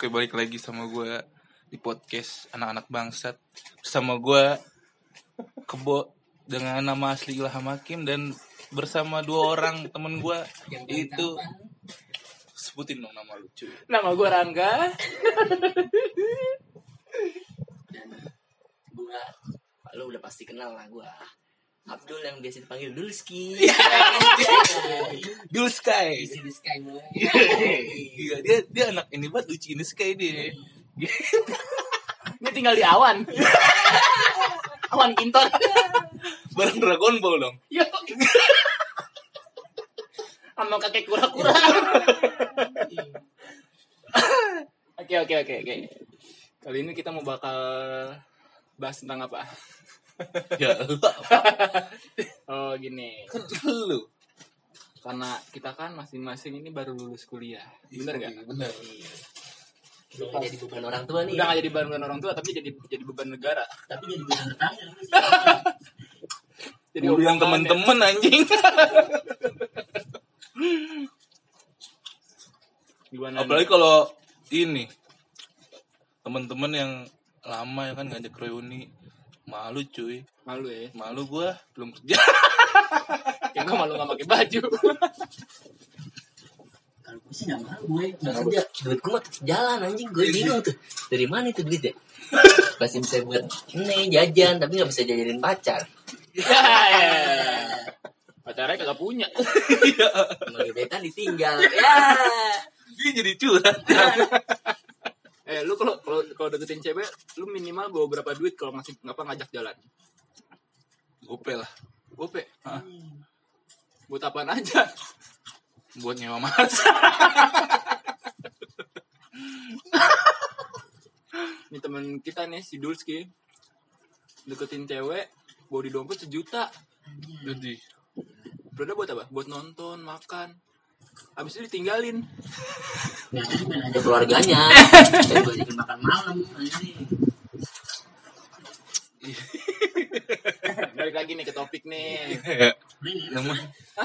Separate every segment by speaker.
Speaker 1: Oke, balik lagi sama gue di podcast Anak-Anak Bangsat. Bersama gue Kebo dengan nama asli Ilham Hakim. Dan bersama dua orang temen gue. Itu sebutin dong nama lu, cuy.
Speaker 2: Nama gue Rangga.
Speaker 3: Dan gue, lu udah pasti kenal lah gue, Abdul yang biasa dipanggil Dulski.
Speaker 1: Dul Sky.
Speaker 3: Isi di Sky boy.
Speaker 1: Iya, dia anak ini banget, lucu ini Sky dia.
Speaker 2: Ini tinggal di awan. Awan Kinton.
Speaker 1: Bareng Dragon Ball dong.
Speaker 2: Yo. Sama kakek kura-kura. Oke. Kali ini kita mau bakal bahas tentang apa?
Speaker 1: Ya,
Speaker 2: Oh gini.
Speaker 1: kan lu.
Speaker 2: Karena kita kan masing-masing ini baru lulus kuliah. Bener gak?
Speaker 1: Bener.
Speaker 3: Udah gak jadi beban orang tua nih.
Speaker 2: Udah gak jadi beban orang tua, tapi jadi beban negara.
Speaker 3: Tapi jadi beban tetangga.
Speaker 2: Jadi
Speaker 1: Urusan
Speaker 2: omongan
Speaker 1: temen-temen anjing.
Speaker 2: Gimana?
Speaker 1: Apalagi kalau ini temen-temen yang lama ya kan ngajak reuni, malu cuy.
Speaker 2: Malu ya.
Speaker 1: Malu gue belum kerja.
Speaker 2: Kayak gue malu gak pakai baju.
Speaker 3: Kalau gue sih gak malu gue, gak kerja. Duit gue mah tetep jalan anjing. Gue bingung tuh, dari mana itu duit ya? Masih bisa buat ini jajan, tapi gak bisa jajanin pacar.
Speaker 2: Ya. Pacarnya kagak punya.
Speaker 3: Emang gebetan ditinggal. Ya.
Speaker 1: Dia jadi curhat.
Speaker 2: Lu kalau deketin cewek, lu minimal bawa berapa duit kalau ngajak jalan?
Speaker 1: Gope lah.
Speaker 2: Gope.
Speaker 1: Hah?
Speaker 2: Buat apaan aja?
Speaker 1: Buat nyewa mas.
Speaker 2: Ini temen kita nih si Dulski deketin cewek, bawa di dompet 1 juta.
Speaker 1: Jadi
Speaker 2: Udah buat apa? Buat nonton, makan. Habis itu ditinggalin.
Speaker 3: Nah, jadi main aja keluarganya. Dan gue jadi makan malam.
Speaker 2: Balik lagi nih ke topik nih.
Speaker 1: namanya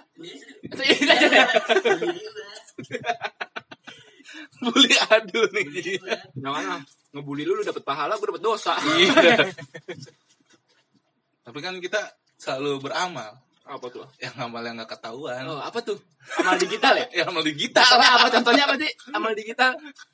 Speaker 1: bully adul nih.
Speaker 2: Jangan ngebully lu dapet pahala, gue dapet dosa.
Speaker 1: Iya. Tapi kan kita selalu beramal.
Speaker 2: Apa tuh?
Speaker 1: Yang amal yang gak ketahuan.
Speaker 2: Oh, apa tuh? Amal digital ya?
Speaker 1: Yang amal digital.
Speaker 2: Contohnya apa sih? Amal digital.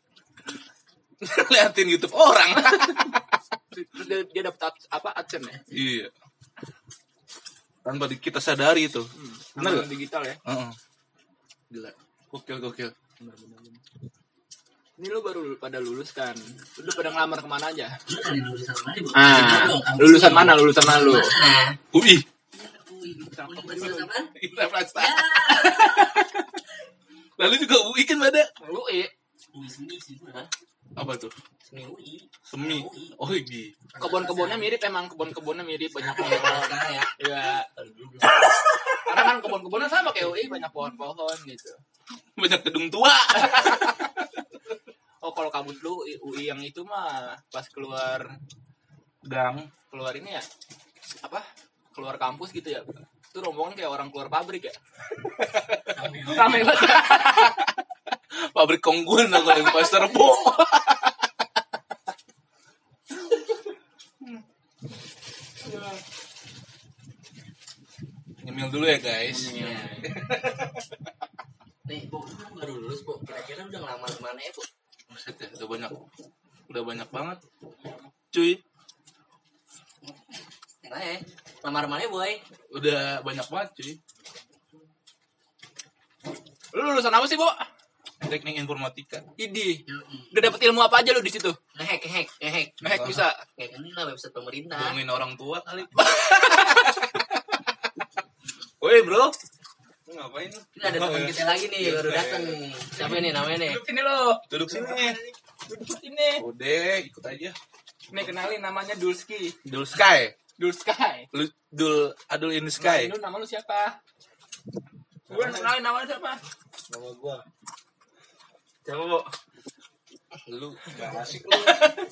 Speaker 1: Liatin YouTube orang.
Speaker 2: Terus dia dapet apa? AdSense ya?
Speaker 1: Iya. Tanpa kita sadari itu. Bener
Speaker 2: Amal
Speaker 1: gak?
Speaker 2: digital ya?
Speaker 1: Gila. Gokil.
Speaker 2: Benar. Ini lu baru pada lulus kan? Lu udah pada ngelamar kemana aja? Lulusan mana lu?
Speaker 1: UI.
Speaker 3: Lulusan apaan?
Speaker 1: Kita Prasta. Lalu juga UI kan ada.
Speaker 2: UI.
Speaker 3: Seni sih gue kan.
Speaker 1: Apa tuh?
Speaker 3: Seni UI.
Speaker 1: Semi. Oh iya.
Speaker 2: Kebun-kebunnya mirip, emang kebun-kebunnya mirip, banyak pohon.
Speaker 3: Ya.
Speaker 2: Iya. Karena kan kebun-kebunnya sama kayak UI, banyak pohon-pohon gitu.
Speaker 1: Banyak gedung tua.
Speaker 2: Oh, kalau kampus lu UI yang itu mah pas keluar ini ya. Apa? Keluar kampus gitu ya. Itu rombongan kayak orang keluar pabrik ya. Rame banget.
Speaker 1: Pabrik Konggun aku yang poster bu. Nyemil dulu ya guys.
Speaker 3: Nih, Bu, kan baru lulus, Bu. Kira-kira udah ngelamar kemana ya, Bu?
Speaker 1: Buset ya, udah banyak banget. Cuy,
Speaker 3: Nah, ya. Lamar mana, Boy?
Speaker 1: udah banyak banget cuy.
Speaker 2: Lu lulusan apa sih, Bu?
Speaker 1: Teknik informatika.
Speaker 2: Idi. Udah dapet ilmu apa aja lu di situ?
Speaker 3: Ngehack.
Speaker 2: Ngehack bisa.
Speaker 3: Kayak ini lah website pemerintah.
Speaker 1: Bohongin orang tua kali. Woi bro, lu ngapain lu?
Speaker 3: Ini ada teman kita lagi nih, baru datang. Siapa nih namanya nih?
Speaker 2: Duduk sini lo.
Speaker 1: Duduk sini.
Speaker 2: Duduk sini.
Speaker 1: Udah, ikut aja.
Speaker 2: Nih kenalin namanya Dulski.
Speaker 1: Dul Sky.
Speaker 2: Dulsky.
Speaker 1: Adul in the Sky.
Speaker 2: Lu nama lu siapa? Gue kenalin nama lu siapa?
Speaker 1: Nama gua. Siapa, Bu? Lu gak asik lu.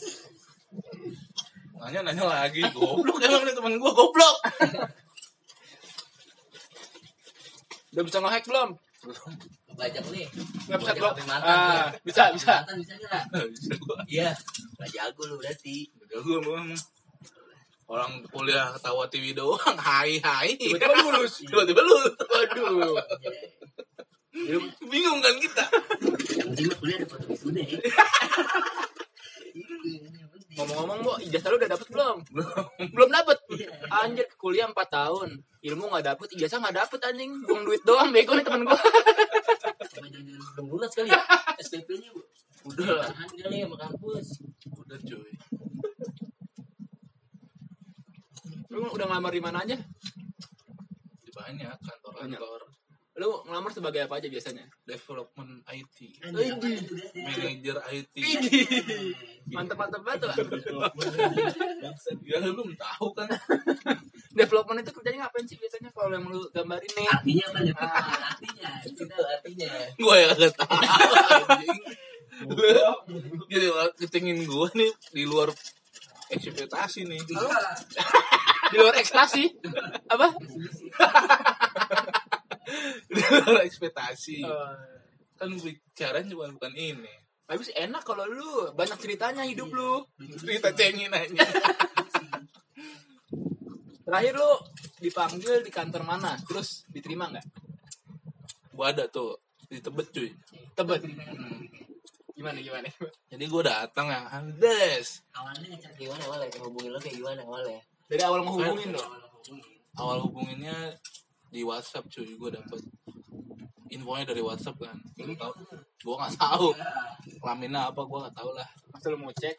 Speaker 1: Nanya lagi, goblok emang nih teman gua goblok.
Speaker 2: Udah bisa nge-hack belum?
Speaker 1: Belum.
Speaker 3: bajak nih.
Speaker 2: Website
Speaker 3: Bajak
Speaker 2: blog.
Speaker 3: HP mantan.
Speaker 2: Bisa.
Speaker 3: Mantan bisa nggak?
Speaker 1: Bisa gua.
Speaker 3: Iya. Nggak jago lu berarti.
Speaker 1: Udah gua emang orang kuliah ketawa TV doang. Hai.
Speaker 2: Tiba-tiba lulus.
Speaker 1: Tiba-tiba lulus.
Speaker 2: Waduh.
Speaker 1: Bingung kan kita.
Speaker 3: Yang penting lu kuliah ada foto wisuda ya.
Speaker 2: Ngomong-ngomong, Bo, ijazah lu udah dapet belum? Belum dapet. Anjir, kuliah 4 tahun. Ilmu enggak dapet, ijazah enggak dapet anjing. Buang duit doang, bego nih temen gua.
Speaker 3: Sama jangan belum lunas kali ya. SPP-nya udah tahan kali sama kampus.
Speaker 1: Udah cuy.
Speaker 2: Lu udah ngelamar di mana aja?
Speaker 1: Banyak kantor-kantor
Speaker 2: Lu ngelamar sebagai apa aja biasanya?
Speaker 1: development IT,
Speaker 3: Manajer
Speaker 1: manager IT.
Speaker 2: Mantep-mantep banget lah.
Speaker 1: Ya lu belum tahu kan.
Speaker 2: Development itu kerjanya ngapain sih biasanya kalau yang lu gambarin nih?
Speaker 3: Artinya apa nih? Artinya. Itu artinya.
Speaker 1: Gue ya kagak tahu. Anjing. Jadi ketingin gue nih di luar ekspektasi nih.
Speaker 2: Di luar ekspektasi. Apa?
Speaker 1: Di luar ekspektasi. Kan bicaranya bukan ini.
Speaker 2: Tapi sih enak kalau lu banyak ceritanya hidup lu.
Speaker 1: Cerita cengin aja.
Speaker 2: Terakhir lu dipanggil di kantor mana? Terus diterima nggak?
Speaker 1: Gue ada tuh di Tebet cuy.
Speaker 2: Tebet. Gimana?
Speaker 1: Jadi gue datang ya, Andes.
Speaker 3: Awalnya ngechat gimana awalnya? Hubungin lo kayak gimana awalnya?
Speaker 2: Dari awal menghubungin lo.
Speaker 1: Awal hubunginnya di WhatsApp cuy, gue dapet infonya dari WhatsApp kan. Gue tau, gue nggak tahu kelaminnya apa, gue nggak tahu lah.
Speaker 2: Masa lu mau cek?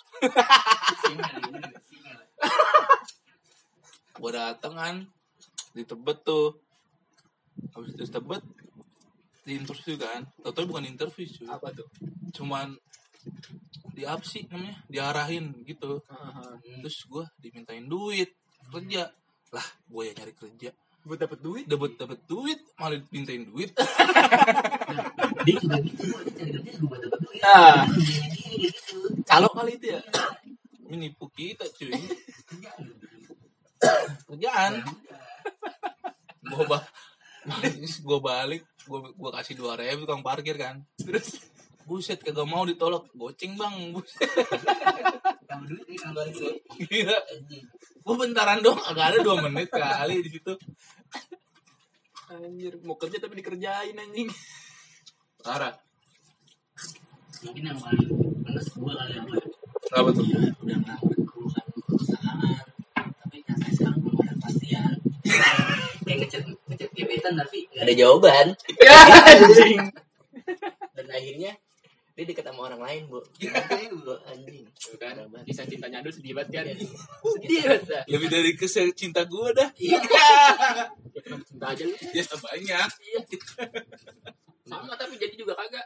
Speaker 1: Gue datang kan di Tebet tuh, habis itu Tebet di interview kan, tau bukan interview cuy,
Speaker 2: Apa tuh?
Speaker 1: cuman di apa sih namanya, diarahin gitu. Terus gue dimintain duit kerja lah, gue ya nyari kerja
Speaker 2: Buat dapet duit?
Speaker 1: dapet duit malah dimintain duit.
Speaker 3: Dia juga gitu, dia cari kerja juga buat dapet duit.
Speaker 2: Ah,
Speaker 3: Gitu.
Speaker 2: kalau kali itu ya.
Speaker 1: Ini nipu kita cuy. Kerjaan. Gue balik, gue kasih 2.000 tukang parkir kan. Terus buset kagak mau ditolak, goceng bang. Buset.
Speaker 3: Kamu duit nih kalau duit.
Speaker 1: Gila. Gue bentaran doang, agak ada 2 menit kali di situ.
Speaker 2: Anjir, mau kerja tapi dikerjain anjing.
Speaker 1: Parah.
Speaker 3: Mungkin yang paling penes gue kali yang gue
Speaker 1: Apa tuh?
Speaker 3: udah ngelamar ke perusahaan, tapi sampai sekarang belum ada kepastian. Kayak ngechat gebetan tapi nggak ada jawaban.
Speaker 2: Ya anjing.
Speaker 3: Dan akhirnya dia deket sama orang lain, Bu. Anjing.
Speaker 2: Tuh kan, kisah cintanya dulu sedih banget kan.
Speaker 3: Iya.
Speaker 2: Sedih banget dah.
Speaker 1: Lebih dari kisah cinta gue dah.
Speaker 3: Iya.
Speaker 2: Ya, kenapa cinta aja lu?
Speaker 1: Ya banyak.
Speaker 2: Iya. Sama tapi jadi juga kagak.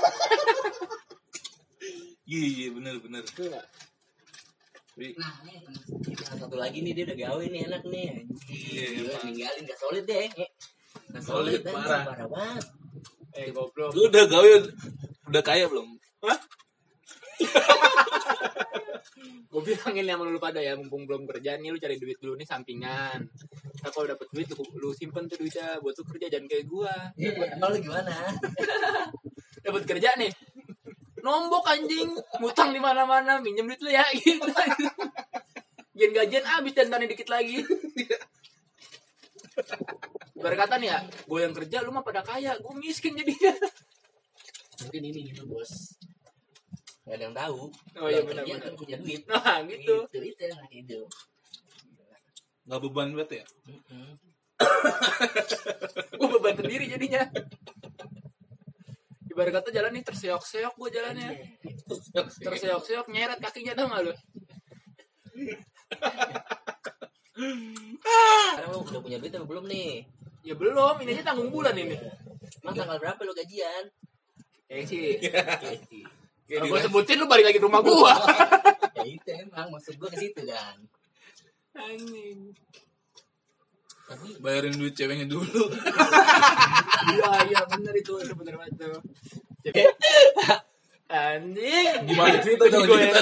Speaker 1: Iya bener.
Speaker 2: Enggak.
Speaker 3: Nah, nih yang satu lagi nih dia udah gawe nih enak nih. Anjing.
Speaker 1: Iya,
Speaker 3: Gila,
Speaker 1: emang.
Speaker 3: ninggalin gak solid deh. Gak
Speaker 1: Solid,
Speaker 3: solid anjing,
Speaker 1: parah.
Speaker 3: parah banget.
Speaker 2: Goblok.
Speaker 1: Lu udah gawe, udah kaya belum?
Speaker 2: Hah? Gue bilangin sama lu pada ya, mumpung belum kerja nih, lu cari duit dulu nih sampingan. Nah, kalau dapet duit lu simpen tuh duitnya buat lu kerja, jangan kayak gua.
Speaker 3: Kalau lu gimana?
Speaker 2: Dapet kerja nih, nombok anjing, ngutang di mana-mana, minjem duit lu ya gitu. Gajian habis dan tani dikit lagi. Berkata nih ya, gue yang kerja lu mah pada kaya, gue miskin jadinya.
Speaker 3: Mungkin ini gitu, Bos. Gak ada yang tahu.
Speaker 2: Oh iya
Speaker 3: Yang kerja
Speaker 2: benar-benar.
Speaker 3: kan punya duit.
Speaker 2: Nah gitu.
Speaker 3: Itu enak hidup.
Speaker 1: Gak beban banget ya?
Speaker 2: Gue beban sendiri jadinya. Ibarat kata jalan nih terseok-seok gue jalannya. Terseok-seok nyeret kakinya tau gak lu?
Speaker 3: Sekarang lu udah punya duit atau belum nih?
Speaker 2: Ya belum, ini aja tanggung bulan ini.
Speaker 3: Emang tanggal berapa lu gajian?
Speaker 2: Sih.
Speaker 3: Ya
Speaker 2: Kalau gue sebutin lu balik lagi ke rumah gua.
Speaker 3: itu emang maksud gua ke situ kan.
Speaker 2: Anjing.
Speaker 3: Tapi
Speaker 1: Bayarin duit ceweknya dulu.
Speaker 2: Iya bener itu bener banget tuh. Anjing.
Speaker 1: Gimana cerita dong?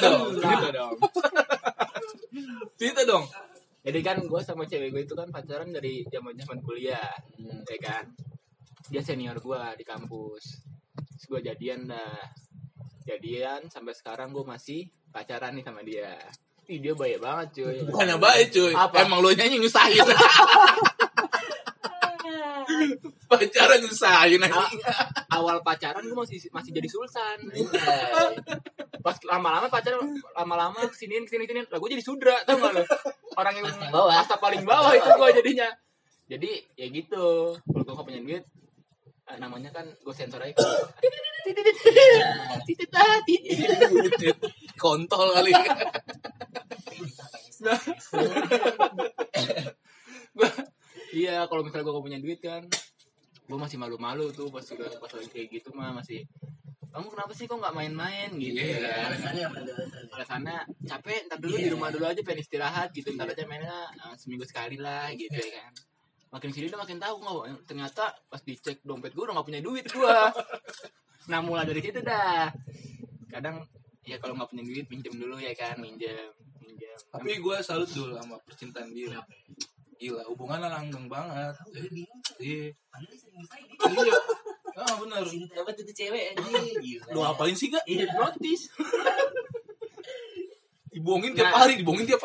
Speaker 1: Cerita dong.
Speaker 2: Jadi kan gue sama cewek gue itu kan pacaran dari zaman kuliah, ya kan. dia senior gue di kampus. Terus gue jadian sampai sekarang gue masih pacaran nih sama dia. Ih, dia baik banget cuy.
Speaker 1: Bukannya baik cuy.
Speaker 2: Apa?
Speaker 1: Emang lo nyanyi nyusahin. Pacaran nyusahin aja.
Speaker 2: Awal pacaran gue masih jadi sultan. Pas lama-lama pacaran, lama-lama kesini. Lah gue jadi sudra, tau gak lo? Orang yang kasta paling bawah itu gue jadinya. Jadi ya gitu. Kalau gue gak punya duit, namanya kan gue sensor aja. Titit.
Speaker 1: Kontol kali.
Speaker 2: Iya, kalau misalnya gue gak punya duit kan, gue masih malu-malu tuh pas lagi kayak gitu mah masih. Kamu kenapa sih kok nggak main-main gitu kan? Alasannya capek, ntar dulu di rumah dulu aja pengen istirahat gitu, ntar aja mainnya seminggu sekali lah gitu ya kan. Makin sini udah makin tahu nggak, ternyata pas dicek dompet gue udah nggak punya duit gue. Nah mulai dari situ dah. Kadang ya kalau nggak punya duit pinjam dulu ya kan, minjem.
Speaker 1: Tapi gue salut dulu sama percintaan dia. Gila, hubungannya langgeng banget. Iya. Iya. Ah benar.
Speaker 3: Cinta banget itu cewek aja.
Speaker 1: Lu apain sih gak?
Speaker 2: Hipnotis.
Speaker 1: Dibohongin tiap hari.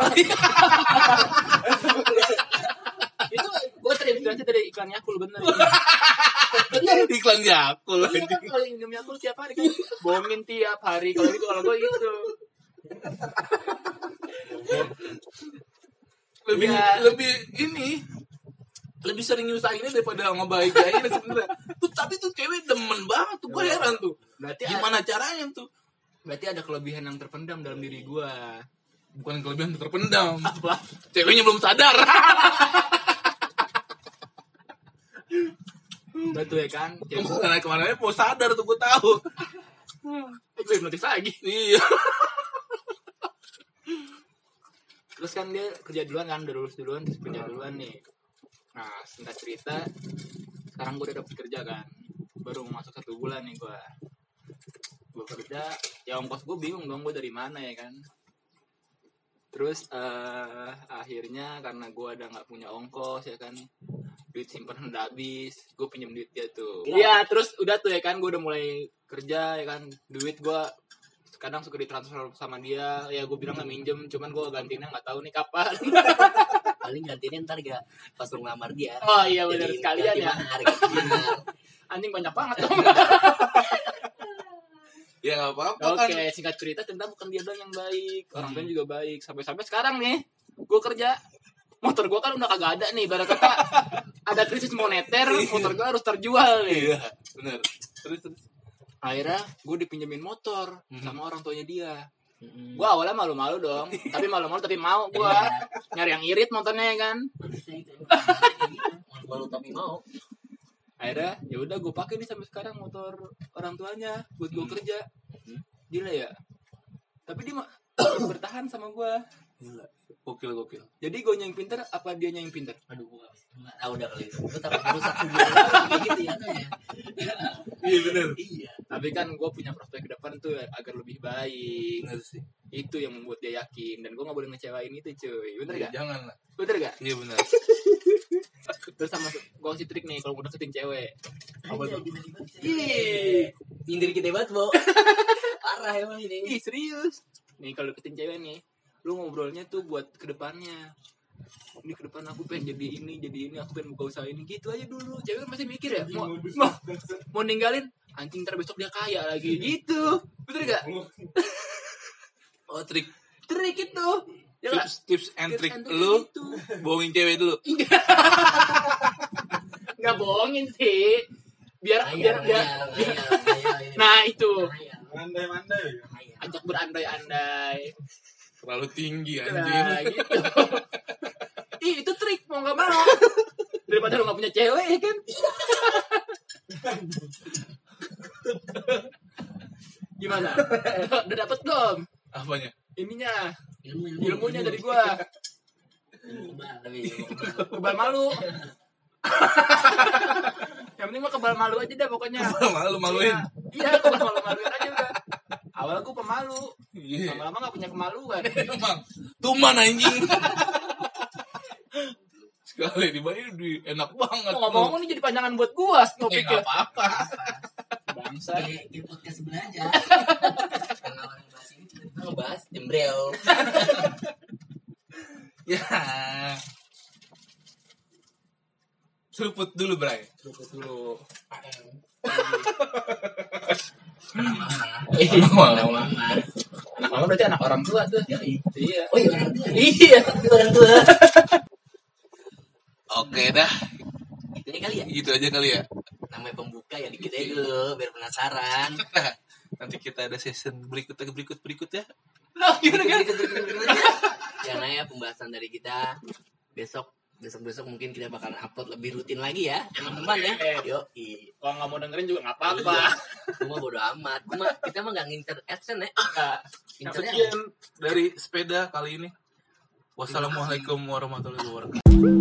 Speaker 2: Itu gue terinspirasi dari iklan Yakul bener.
Speaker 1: Iklan Yakul.
Speaker 2: Iya kan kalau minum Yakul tiap hari kan bohongin tiap hari kalau gue itu.
Speaker 1: Lebih sering nyusahinnya daripada ngebahagiain sebenarnya. Tapi tuh cewek demen banget tuh, gue heran tuh.
Speaker 2: Berarti
Speaker 1: gimana caranya tuh?
Speaker 2: Berarti ada kelebihan yang terpendam dalam diri gue.
Speaker 1: Bukan kelebihan terpendam.
Speaker 2: Apa?
Speaker 1: Ceweknya belum sadar.
Speaker 2: Betul ya kan?
Speaker 1: Kemana-mana mau sadar tuh, gue tahu.
Speaker 2: Gue hipnotis lagi.
Speaker 1: Iya.
Speaker 2: Terus kan dia kerja duluan kan, udah lulus duluan, terus kerja duluan nih. Nah, singkat cerita, sekarang gue udah dapet kerja kan. Baru masuk 1 bulan nih gue kerja, ya ongkos gue bingung dong, gue dari mana ya kan. Terus akhirnya karena gue udah gak punya ongkos ya kan, duit simpanan udah habis, gue pinjam duit dia tuh. Iya, terus udah tuh ya kan, gue udah mulai kerja ya kan, duit gue kadang suka ditransfer sama dia, ya gue bilang gak minjem, cuman gue gantinya gak tahu nih kapan.
Speaker 3: Paling gantinya ntar gak pas lu ngelamar dia.
Speaker 2: Oh iya benar sekalian ya.
Speaker 3: Mahar.
Speaker 2: Anjing banyak banget dong.
Speaker 1: Ya gak apa-apa kan.
Speaker 2: Oke, singkat cerita ternyata bukan dia doang yang baik, orang lain juga baik. Sampai sekarang nih, gue kerja, motor gue kan udah kagak ada nih, ibarat kata ada krisis moneter, motor gue harus terjual nih.
Speaker 1: Iya, benar. Terus.
Speaker 2: Akhirnya gue dipinjemin motor sama orang tuanya dia. Gue awalnya malu-malu dong, tapi malu-malu tapi mau gue nyari yang irit motornya ya kan.
Speaker 3: Malu tapi mau.
Speaker 2: Akhirnya ya udah gue pakai nih sampai sekarang motor orang tuanya buat gue kerja. Gila ya. Tapi dia bertahan sama gue.
Speaker 1: Gila. Gokil.
Speaker 2: Jadi gue yang pinter apa dia yang pinter?
Speaker 3: Aduh, gue nggak tahu dah kali itu. Gue takut rusak hubungan gitu ya.
Speaker 1: Iya benar.
Speaker 3: Iya.
Speaker 2: Tapi kan gue punya prospek ke depan tuh agar lebih baik.
Speaker 1: Benar sih.
Speaker 2: Itu yang membuat dia yakin, dan gue nggak boleh ngecewain itu cuy. Bener gak?
Speaker 1: Jangan lah.
Speaker 2: Bener gak?
Speaker 1: Iya benar.
Speaker 2: Terus sama gue kasih trik nih kalau mau deketin cewek.
Speaker 3: Apa tuh?
Speaker 2: Ih,
Speaker 3: Nyindir kita banget, Bo. Parah emang ini.
Speaker 2: ih serius. Nih kalau deketin cewek nih, lu ngobrolnya tuh buat kedepannya. Ini ke depan aku pengen jadi ini, aku pengen buka usaha ini, gitu aja dulu. Cewek kan pasti mikir ya, mau ninggalin, anjing ntar besok dia kaya lagi, gitu. Betul gak?
Speaker 1: Oh, trik
Speaker 2: itu. Ya gak?
Speaker 1: tips and trick lu
Speaker 2: gitu.
Speaker 1: bohongin cewek dulu.
Speaker 2: Nggak bohongin sih. Biar.
Speaker 3: Ayah.
Speaker 2: Nah itu.
Speaker 4: Mandai-mandai.
Speaker 2: Ajak berandai-andai.
Speaker 1: Terlalu tinggi anjing.
Speaker 2: Nah, gitu. Ih, itu trik mau nggak mau. Daripada lu nggak punya cewek ya kan. Gimana? Udah dapet belum?
Speaker 1: Apanya?
Speaker 2: Ininya. Ilmunya dari gua. Kebal malu. Yang penting mah kebal malu aja dah pokoknya.
Speaker 1: Malu-maluin.
Speaker 2: Iya, kebal malu-maluin aja udah. Awalnya gua pemalu.
Speaker 1: Iya.
Speaker 2: Lama-lama gak punya kemaluan.
Speaker 1: Emang tuman anjing. Sekali dibayar duit enak banget.
Speaker 2: Ngomong-ngomong ini jadi panjangan buat gua ngopi
Speaker 1: Nggak apa-apa.
Speaker 2: bangsa.
Speaker 3: Kayak podcast sebelah aja. Karena orang bahas ini tiba-tiba ngebahas jembrel.
Speaker 1: Ya. Seruput dulu, Bray.
Speaker 2: Seruput dulu.
Speaker 3: Anak mama.
Speaker 2: Anak mama berarti anak orang tua tuh. Iya.
Speaker 3: Oh iya orang tua.
Speaker 2: Iya.
Speaker 3: Itu orang tua.
Speaker 1: Oke dah.
Speaker 3: Itu aja kali ya.
Speaker 1: Gitu aja kali ya.
Speaker 3: Namanya pembuka ya dikit aja dulu biar penasaran.
Speaker 1: Nanti kita ada season berikut ya.
Speaker 2: Nah, gimana kan?
Speaker 3: Jangan ya pembahasan dari kita besok mungkin kita bakalan upload lebih rutin lagi ya teman-teman ya. Yo,
Speaker 2: Kalau nggak mau dengerin juga nggak apa-apa.
Speaker 3: Cuma bodo amat. Kita mah nggak ngincer adsense ya.
Speaker 2: Incernya
Speaker 1: Sekian dari sepeda kali ini. Wassalamualaikum warahmatullahi wabarakatuh.